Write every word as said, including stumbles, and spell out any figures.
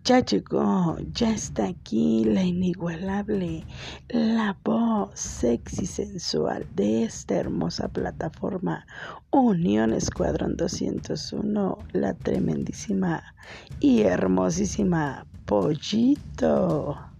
Ya llegó, ya está aquí la inigualable, la voz sexy sensual de esta hermosa plataforma Unión Escuadrón doscientos uno, la tremendísima y hermosísima Pollito.